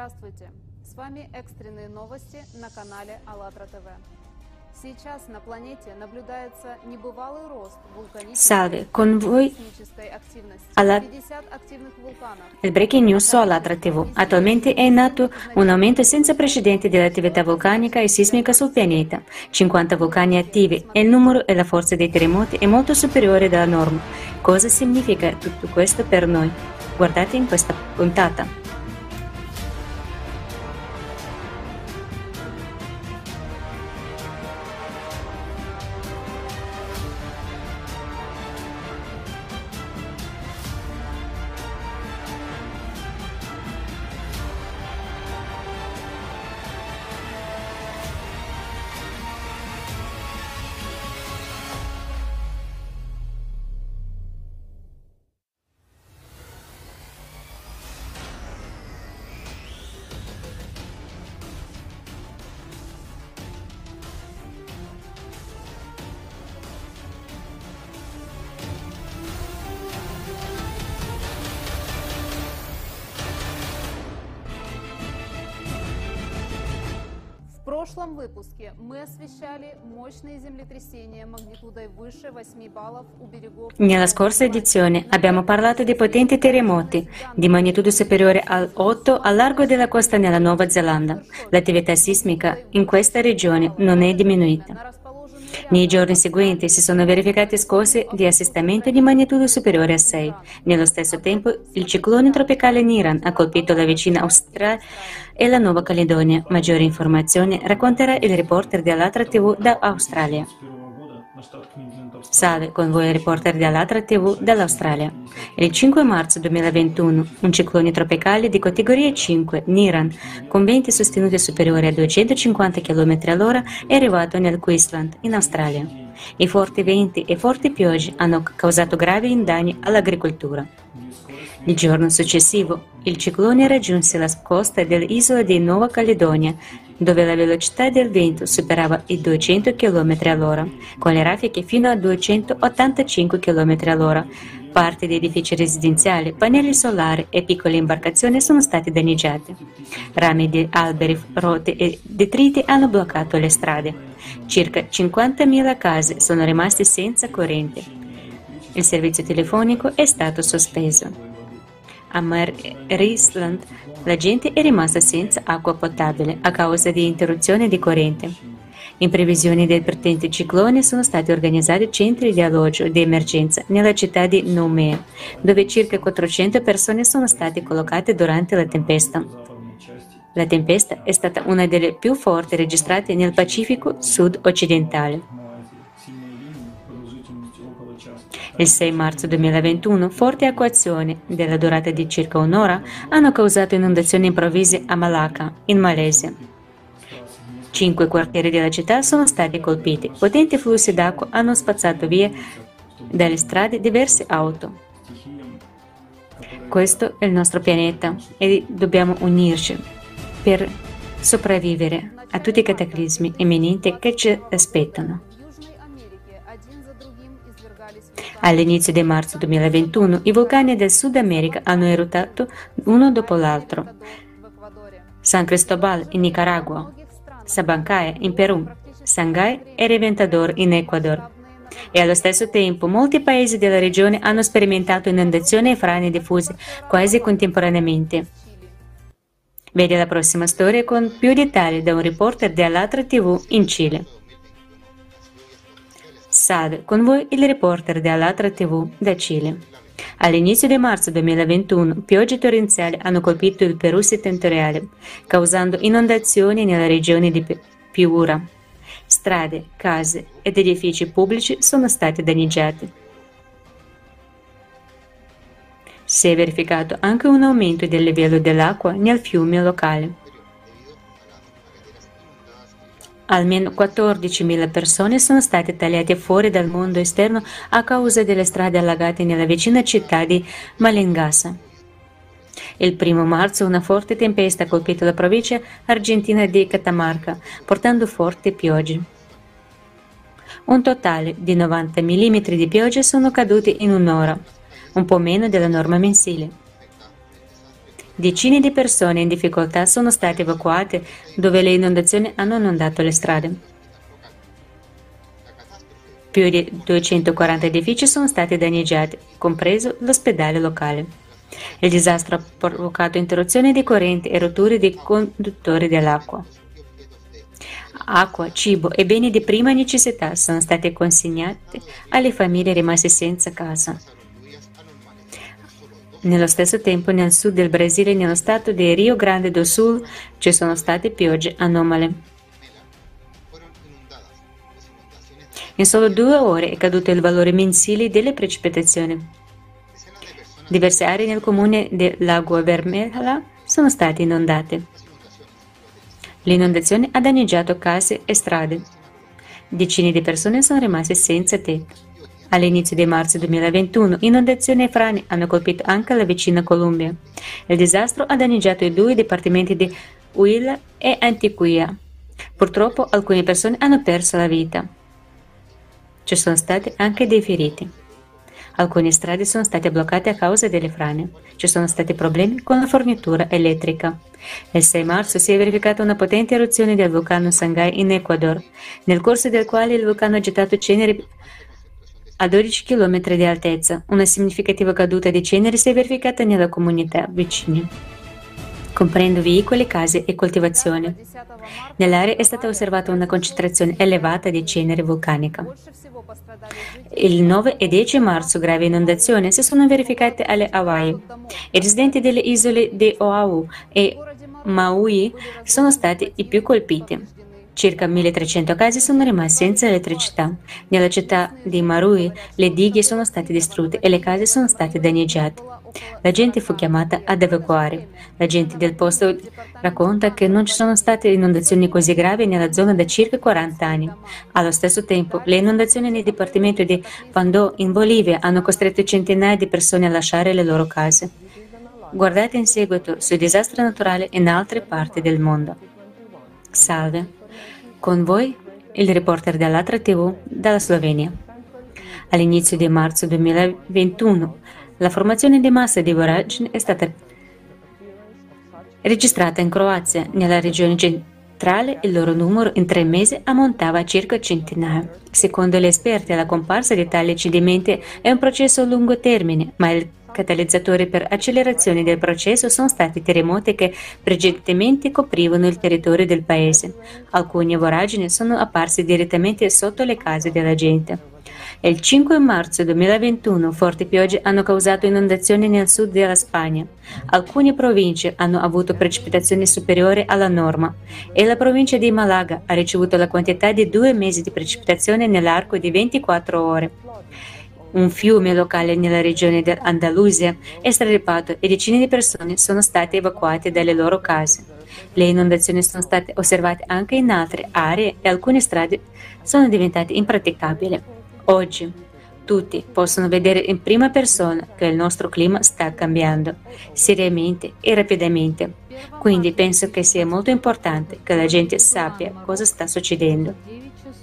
Здравствуйте! С вами экстренные новости на канале АЛЛАТРА ТВ. Сейчас на планете наблюдается небывалый рост Salve, con voi alla... 50 активных вулканов. il Breaking News su ALLATRA TV. Attualmente è in atto un aumento senza precedenti dell'attività vulcanica e sismica sul pianeta. 50 vulcani attivi e il numero e la forza dei terremoti è molto superiore della norma. Cosa significa tutto questo per noi? Guardate in questa puntata. В прошлом выпуске мы освещали мощные землетрясения магнитудой выше 8 баллов у берегов. Nella scorsa edizione abbiamo parlato di potenti terremoti di magnitudo superiore al 8 al largo della costa nella Nuova Zelanda. L'attività sismica in questa regione non è diminuita. Nei giorni seguenti si sono verificate scosse di assestamento di magnitudo superiore a 6. Nello stesso tempo, il ciclone tropicale Niran ha colpito la vicina Australia e la Nuova Caledonia. Maggiori informazioni racconterà il reporter di ALLATRA TV da Australia. Salve, con voi il reporter di ALLATRA TV dall'Australia. Il 5 marzo 2021, un ciclone tropicale di categoria 5, Niran, con venti sostenuti superiori a 250 km all'ora, è arrivato nel Queensland, in Australia. I forti venti e forti piogge hanno causato gravi danni all'agricoltura. Il giorno successivo, il ciclone raggiunse la costa dell'isola di Nuova Caledonia, dove la velocità del vento superava i 200 km all'ora, con le raffiche fino a 285 km all'ora. Parte di edifici residenziali, pannelli solari e piccole imbarcazioni sono stati danneggiati. Rami di alberi rotti e detriti hanno bloccato le strade. Circa 50.000 case sono rimaste senza corrente. Il servizio telefonico è stato sospeso. A Marisland la gente è rimasta senza acqua potabile a causa di interruzione di corrente. In previsione del potente ciclone sono stati organizzati centri di alloggio di emergenza nella città di Noumea, dove circa 400 persone sono state collocate durante la tempesta. La tempesta è stata una delle più forti registrate nel Pacifico sud-occidentale. Il 6 marzo 2021, forti acquazzoni, della durata di circa un'ora, hanno causato inondazioni improvvise a Malacca, in Malesia. 5 quartieri della città sono stati colpiti. Potenti flussi d'acqua hanno spazzato via dalle strade diverse auto. Questo è il nostro pianeta e dobbiamo unirci per sopravvivere a tutti i cataclismi imminenti che ci aspettano. All'inizio di marzo 2021 i vulcani del Sud America hanno eruttato uno dopo l'altro. San Cristobal in Nicaragua, Sabancaya in Perù, Shanghai e Reventador in Ecuador. E allo stesso tempo molti paesi della regione hanno sperimentato inondazioni e frane diffuse quasi contemporaneamente. Vedi la prossima storia con più dettagli da un reporter di ALLATRA TV in Cile. Salve, con voi il reporter di ALLATRA TV da Cile. All'inizio di marzo 2021, piogge torrenziali hanno colpito il Perù settentrionale, causando inondazioni nella regione di Piura. Strade, case ed edifici pubblici sono stati danneggiati. Si è verificato anche un aumento del livello dell'acqua nel fiume locale. Almeno 14.000 persone sono state tagliate fuori dal mondo esterno a causa delle strade allagate nella vicina città di Malengasa. Il 1 marzo una forte tempesta ha colpito la provincia argentina di Catamarca, portando forti piogge. Un totale di 90 mm di pioggia sono caduti in un'ora, un po' meno della norma mensile. Decine di persone in difficoltà sono state evacuate dove le inondazioni hanno inondato le strade. Più di 240 edifici sono stati danneggiati, compreso l'ospedale locale. Il disastro ha provocato interruzioni di corrente e rotture di conduttori dell'acqua. Acqua, cibo e beni di prima necessità sono stati consegnati alle famiglie rimaste senza casa. Nello stesso tempo, nel sud del Brasile e nello stato di Rio Grande do Sul ci sono state piogge anomale. In solo 2 ore è caduto il valore mensile delle precipitazioni. Diverse aree nel comune di Lagoa Vermelha sono state inondate. L'inondazione ha danneggiato case e strade. Decine di persone sono rimaste senza tetto. All'inizio di marzo 2021, inondazioni e frane hanno colpito anche la vicina Colombia. Il disastro ha danneggiato i 2 dipartimenti di Huila e Antioquia. Purtroppo alcune persone hanno perso la vita. Ci sono stati anche dei feriti. Alcune strade sono state bloccate a causa delle frane. Ci sono stati problemi con la fornitura elettrica. Il 6 marzo si è verificata una potente eruzione del vulcano Sangay in Ecuador, nel corso del quale il vulcano ha gettato ceneri a 12 km di altezza. Una significativa caduta di ceneri si è verificata nella comunità vicina, comprendo veicoli, case e coltivazioni. Nell'area è stata osservata una concentrazione elevata di cenere vulcanica. Il 9 e 10 marzo gravi inondazioni si sono verificate alle Hawaii. I residenti delle isole di Oahu e Maui sono stati i più colpiti. Circa 1300 case sono rimasti senza elettricità. Nella città di Marui le dighe sono state distrutte e le case sono state danneggiate. La gente fu chiamata ad evacuare. La gente del posto racconta che non ci sono state inondazioni così gravi nella zona da circa 40 anni. Allo stesso tempo, le inondazioni nel dipartimento di Pandó in Bolivia hanno costretto centinaia di persone a lasciare le loro case. Guardate in seguito sui disastri naturali in altre parti del mondo. Salve. Con voi il reporter dell'Altra TV dalla Slovenia. All'inizio di marzo 2021, la formazione di massa di voragini è stata registrata in Croazia. Nella regione centrale il loro numero in 3 mesi ammontava a circa centinaia. Secondo gli esperti, la comparsa di tali cedimenti è un processo a lungo termine, ma il catalizzatori per accelerazione del processo sono stati terremoti che precedentemente coprivano il territorio del paese. Alcune voragini sono apparse direttamente sotto le case della gente. Il 5 marzo 2021 forti piogge hanno causato inondazioni nel sud della Spagna. Alcune province hanno avuto precipitazioni superiori alla norma e la provincia di Malaga ha ricevuto la quantità di 2 mesi di precipitazione nell'arco di 24 ore. Un fiume locale nella regione dell'Andalusia è strarippato e decine di persone sono state evacuate dalle loro case. Le inondazioni sono state osservate anche in altre aree e alcune strade sono diventate impraticabili. Oggi tutti possono vedere in prima persona che il nostro clima sta cambiando, seriamente e rapidamente. Quindi penso che sia molto importante che la gente sappia cosa sta succedendo.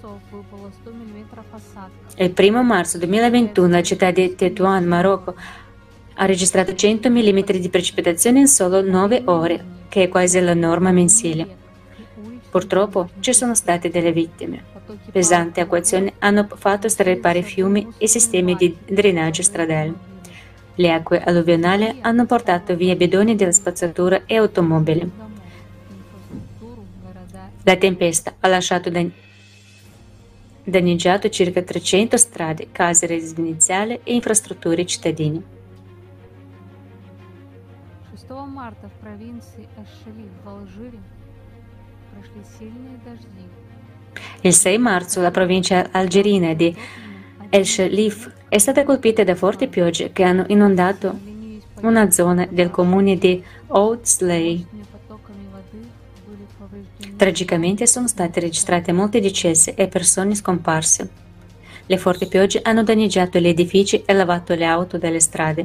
Il 1 marzo 2021 la città di Tetuan, Marocco, ha registrato 100 mm di precipitazione in solo 9 ore, che è quasi la norma mensile. Purtroppo ci sono state delle vittime. Pesanti acquazioni hanno fatto straripare fiumi e sistemi di drenaggio stradale. Le acque alluvionali hanno portato via bidoni della spazzatura e automobili. La tempesta ha lasciato danneggiato circa 300 strade, case residenziali e infrastrutture cittadine. 6 марта в провинции Эш-Шалиф в Алжире прошли сильные дожди. Il 6 marzo la provincia algerina di El Shalif è stata colpita da forti piogge che hanno inondato una zona del comune di Oud Slay. Tragicamente sono state registrate molte decessi e persone scomparse. Le forti piogge hanno danneggiato gli edifici e lavato le auto dalle strade.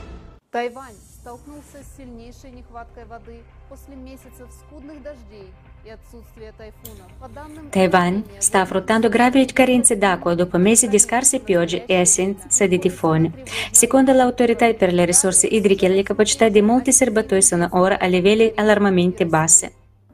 Тайвань столкнулся с сильнейшей нехваткой воды после месяцев скудных дождей и отсутствие тайфунов. По данным Taiwan sta affrontando gravi carenze d'acqua dopo mesi di scarse piogge e assenza di tifoni. Secondo l'autorità per le risorse idriche, le capacità di molti serbatoi sono ora a livelli allarmantemente bassi.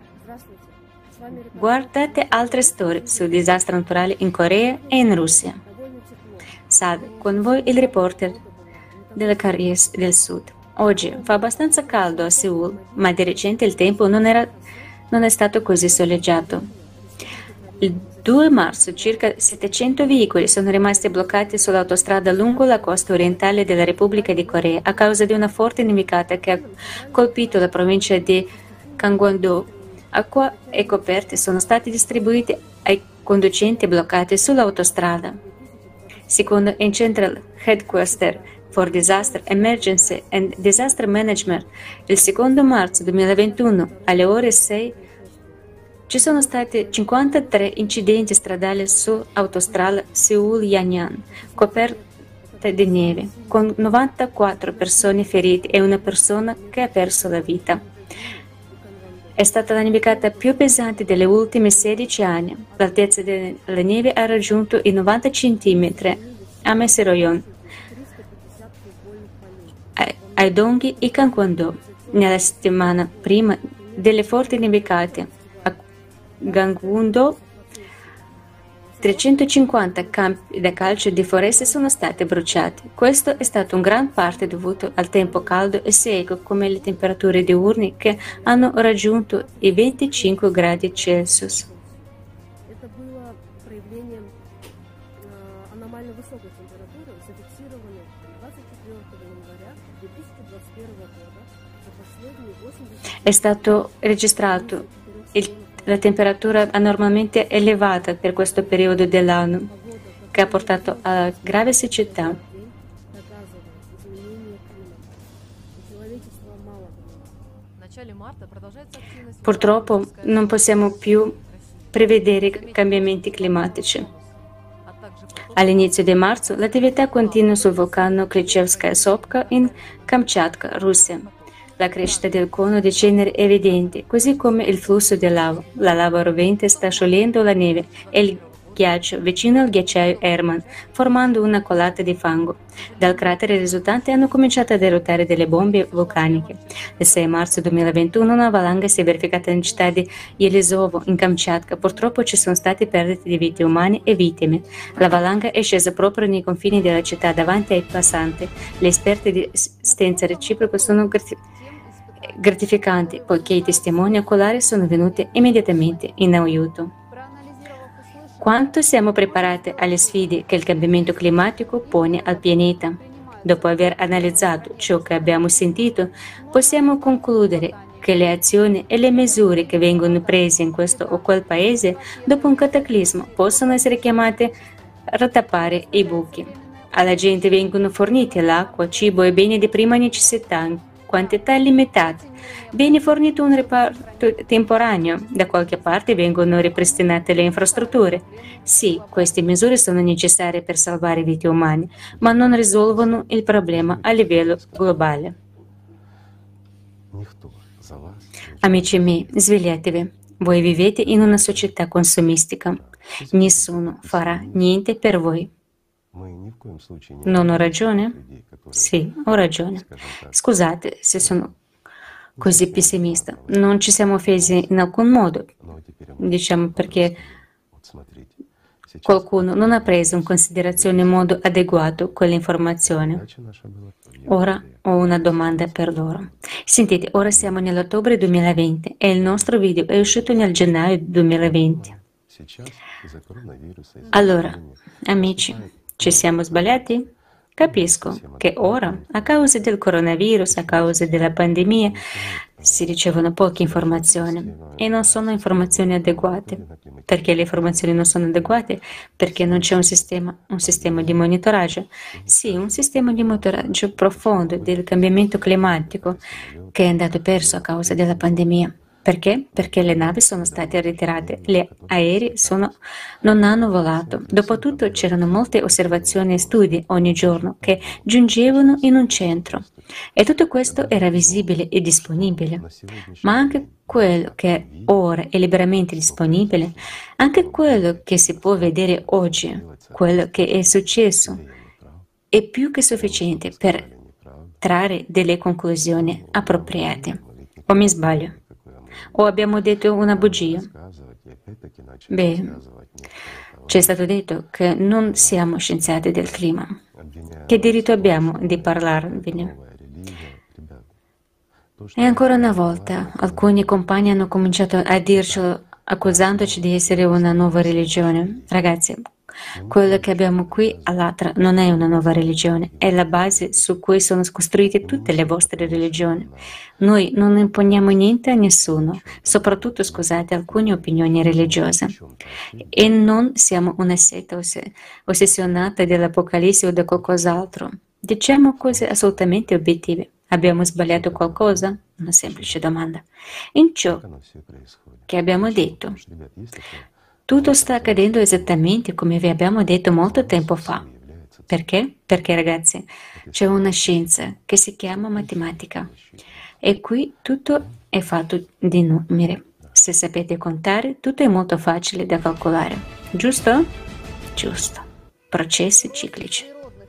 Guardate altre storie su disastri naturali in Corea e in Russia. Salve, con voi il reporter della Corea del Sud. Oggi fa abbastanza caldo a Seoul, ma di recente il tempo non è stato così soleggiato. Il 2 marzo circa 700 veicoli sono rimasti bloccati sull'autostrada lungo la costa orientale della Repubblica di Corea a causa di una forte nevicata che ha colpito la provincia di Gangwon-do. Acqua e coperte sono stati distribuiti ai conducenti bloccati sull'autostrada. Secondo il Central Headquarter for Disaster Emergency and Disaster Management, il 2 marzo 2021 alle ore 6 ci sono stati 53 incidenti stradali su autostrada Seoul-Yangon, coperte di neve, con 94 persone ferite e una persona che ha perso la vita. È stata la nevicata più pesante degli ultimi 16 anni. L'altezza della neve ha raggiunto i 90 cm a Meseroyon, ai Donghi e Gangwon-do. Nella settimana prima delle forti nevicate a Gangwon-do, 350 campi da calcio di foreste sono stati bruciati. Questo è stato in gran parte dovuto al tempo caldo e secco, come le temperature diurne che hanno raggiunto i 25 gradi Celsius. Это было проявлением аномально высокой температуры, зафиксированной 24 января 2021 года за последние 80 È stato registrato la temperatura anormalmente elevata per questo periodo dell'anno, che ha portato a grave siccità. доказывает изменение климата. И человечество мало понимает. В начале марта продолжается активность Purtroppo non possiamo più prevedere cambiamenti climatici. а также поток All'inizio di marzo l'attività continua sul vulcano Klichevskaya Sopka in Kamchatka, Russia. La crescita del cono di cenere è evidente, così come il flusso di lava. La lava rovente sta sciogliendo la neve e il ghiaccio vicino al ghiacciaio Herman, formando una colata di fango. Dal cratere risultante hanno cominciato ad eruttare delle bombe vulcaniche. Il 6 marzo 2021 una valanga si è verificata nella città di Yelizovo, in Kamchatka. Purtroppo ci sono state perdite di vite umane e vittime. La valanga è scesa proprio nei confini della città davanti ai passanti. Le esperte di assistenza reciproca sono gratificanti, poiché i testimoni oculari sono venuti immediatamente in aiuto. проанализировав услышанное, Quanto siamo preparati alle sfide che il cambiamento climatico pone al pianeta? Dopo aver analizzato ciò che abbiamo sentito, possiamo concludere che le azioni e le misure che vengono prese in questo o quel paese dopo un cataclisma possono essere chiamate a tappare i buchi. Alla gente vengono forniti l'acqua, cibo e beni di prima necessità in quantità limitate. Viene fornito un reparto temporaneo, da qualche parte vengono ripristinate le infrastrutture. Sì, queste misure sono necessarie per salvare vite umane, ma non risolvono il problema a livello globale. Ніхто за вас Amici miei, svegliatevi. Voi vivete in una società consumistica. Nessuno farà niente per voi. ми ні в коєму случаї Non ho ragione? людей, которые, Sì, ho ragione. скажем так, Scusate se sono così pessimista. Non ci siamo offesi in alcun modo, но теперь мы diciamo perché вот смотрите, сейчас qualcuno non ha preso in considerazione in modo adeguato quell'informazione. задача наша была. Ora ho una domanda per loro. Sentite, ora siamo nell'ottobre 2020 e il nostro video è uscito nel gennaio 2020. Сейчас из-за коронавируса, из-за Allora, пандемии, amici, ci siamo sbagliati? Capisco che ora, a causa del coronavirus, a causa della pandemia, si ricevono poche informazioni e non sono informazioni adeguate. Perché le informazioni non sono adeguate? Perché non c'è un sistema di monitoraggio. Sì, un sistema di monitoraggio profondo del cambiamento climatico che è andato perso a causa della pandemia. Perché? Perché le navi sono state ritirate, gli aerei non hanno volato. Dopotutto c'erano molte osservazioni e studi ogni giorno che giungevano in un centro. E tutto questo era visibile e disponibile. Ma anche quello che ora è liberamente disponibile, anche quello che si può vedere oggi, quello che è successo, è più che sufficiente per trarre delle conclusioni appropriate. O mi sbaglio? O abbiamo detto una bugia? Beh, ci è stato detto che non siamo scienziati del clima. Che diritto abbiamo di parlarvene? E ancora una volta, alcuni compagni hanno cominciato a dircelo accusandoci di essere una nuova religione. Ragazzi, quello che abbiamo qui all'Atra non è una nuova religione, è la base su cui sono costruite tutte le vostre religioni. Noi non imponiamo niente a nessuno, soprattutto, scusate, alcune opinioni religiose. E non siamo una setta ossessionata dell'Apocalisse o da qualcos'altro. Diciamo cose assolutamente obiettive. Abbiamo sbagliato qualcosa? Una semplice domanda. In ciò che abbiamo detto, tutto sta accadendo esattamente come vi abbiamo detto molto tempo fa. Perché? Perché, ragazzi, c'è una scienza che si chiama matematica e qui tutto è fatto di numeri. Se sapete contare, tutto è molto facile da calcolare. Giusto? Giusto. Processi ciclici.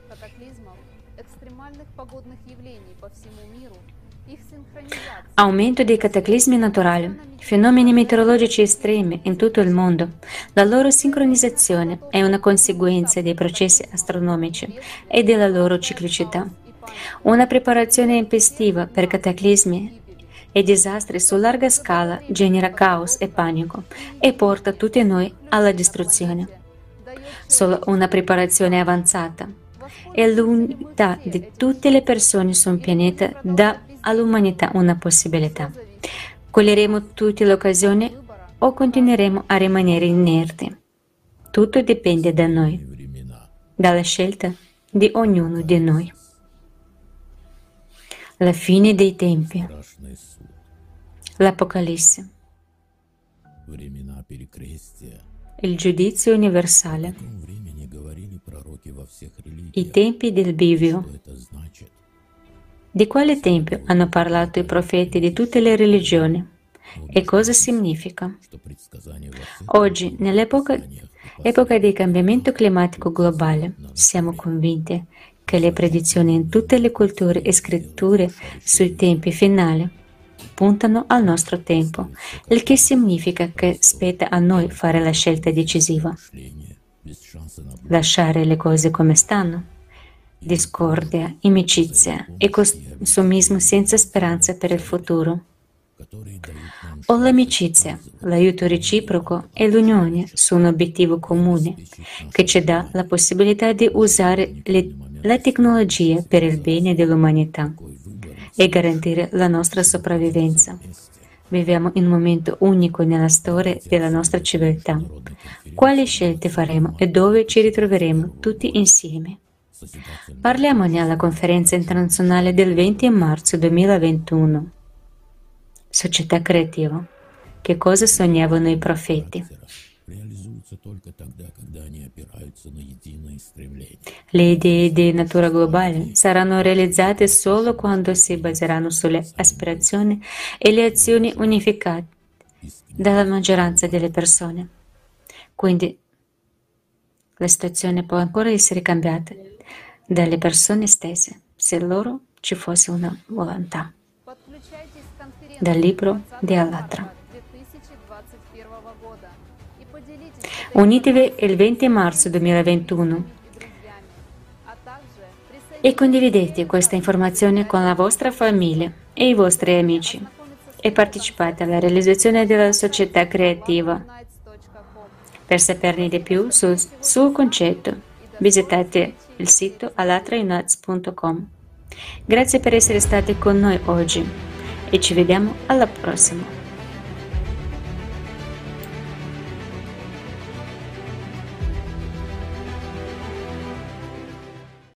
Aumento dei cataclismi naturali, fenomeni meteorologici estremi in tutto il mondo. La loro sincronizzazione è una conseguenza dei processi astronomici e della loro ciclicità. Una preparazione impestiva per cataclismi e disastri su larga scala genera caos e panico e porta tutti noi alla distruzione. Solo una preparazione avanzata e l'unità di tutte le persone su un pianeta dà all'umanità una possibilità. Coglieremo tutte le occasioni o continueremo a rimanere inerti. Tutto dipende da noi, dalla scelta di ognuno di noi. La fine dei tempi. L'Apocalisse. Il giudizio universale. I tempi del bivio. Di quale tempio hanno parlato i profeti di tutte le religioni? E cosa significa? Oggi, nell'epoca del cambiamento climatico globale, siamo convinti che le predizioni in tutte le culture e scritture sui tempi finali puntano al nostro tempo, il che significa che spetta a noi fare la scelta decisiva. Lasciare le cose come stanno. Discordia, inimicizia e consumismo senza speranza per il futuro. O l'amicizia, l'aiuto reciproco e l'unione su un obiettivo comune che ci dà la possibilità di usare la tecnologia per il bene dell'umanità e garantire la nostra sopravvivenza. Viviamo in un momento unico nella storia della nostra civiltà. Quali scelte faremo e dove ci ritroveremo tutti insieme? Parliamone alla conferenza internazionale del 20 marzo 2021. Società creativa. Che cosa sognavano i profeti? Le idee di natura globale saranno realizzate solo quando si baseranno sulle aspirazioni e le azioni unificate dalla maggioranza delle persone. Quindi la situazione può ancora essere cambiata dalle persone stesse, se loro ci fosse una volontà. Dal libro di Allatra. Unitevi il 20 marzo 2021 e condividete questa informazione con la vostra famiglia e i vostri amici e partecipate alla realizzazione della società creativa. Per saperne di più sul suo concetto, visitate il sito allatraunites.com. Grazie per essere stati con noi oggi e ci vediamo alla prossima.